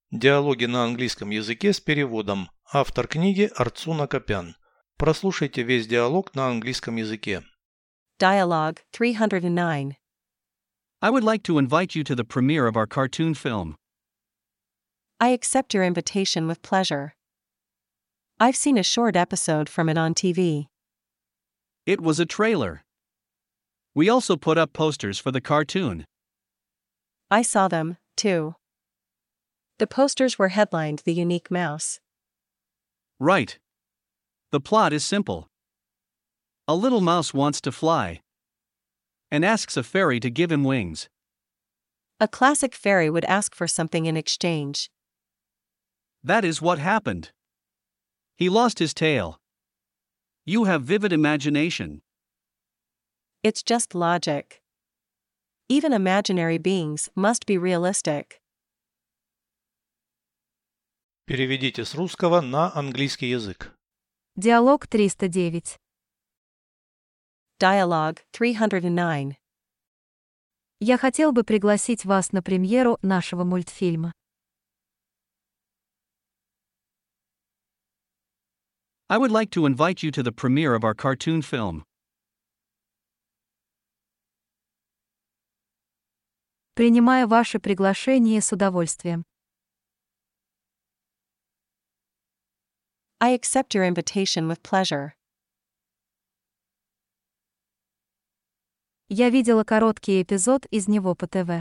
Диалоги на английском языке с переводом. Автор книги Арцуна Копян. Прослушайте весь диалог на английском языке. Dialogue 309. I would like to invite you to the premiere of our cartoon film. I accept your invitation with pleasure. I've seen a short episode from it on TV. It was a trailer. We also put up posters for the cartoon. I saw them, too. The posters were headlined The Unique Mouse. Right. The plot is simple. A little mouse wants to fly and asks a fairy to give him wings. A classic fairy would ask for something in exchange. That is what happened. He lost his tail. You have vivid imagination. It's just logic. Even imaginary beings must be realistic. Переведите с русского на английский язык. Диалог 309. Dialogue 309. Я хотел бы пригласить вас на премьеру нашего мультфильма. I would like to invite you to the premiere of our cartoon film. Принимаю ваше приглашение с удовольствием. I accept your invitation with pleasure. Я видела короткий эпизод из него по ТВ.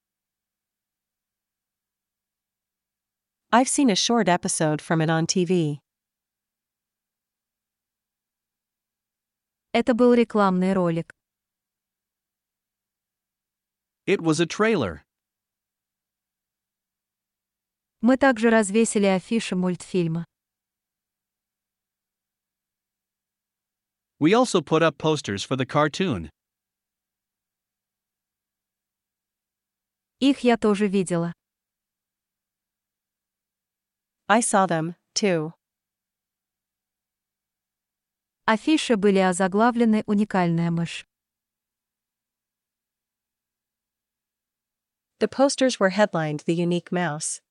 I've seen a short episode from it on TV. Это был рекламный ролик. It was a trailer. Мы также развесили афиши мультфильма. We also put up posters for the cartoon. Их я тоже видела. I saw them, too. Афиши были озаглавлены «Уникальная мышь». The posters were headlined The Unique Mouse.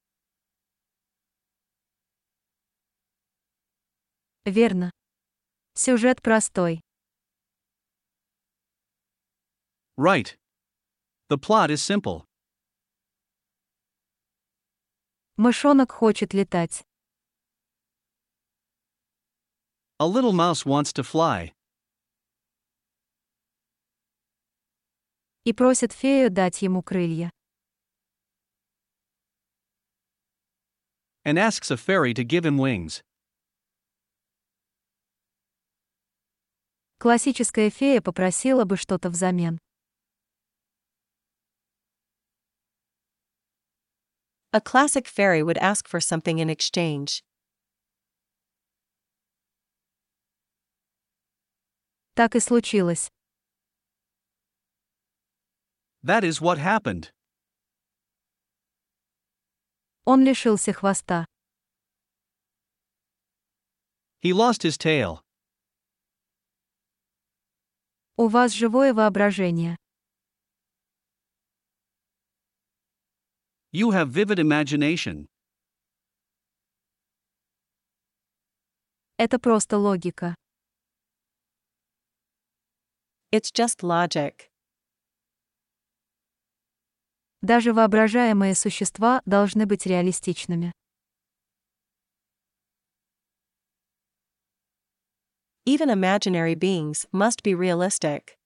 Верно. Сюжет простой. Right. The plot is simple. Мышонок хочет летать. A little mouse wants to fly И просит фею дать ему крылья. and asks a fairy to give him wings. Классическая фея попросила бы что-то взамен. A classic fairy would ask for something in exchange. Так и случилось. That is what happened. Он лишился хвоста. He lost his tail. У вас живое воображение. You have vivid imagination. Это просто логика. It's just logic. Даже воображаемые существа должны быть реалистичными. Even imaginary beings must be realistic.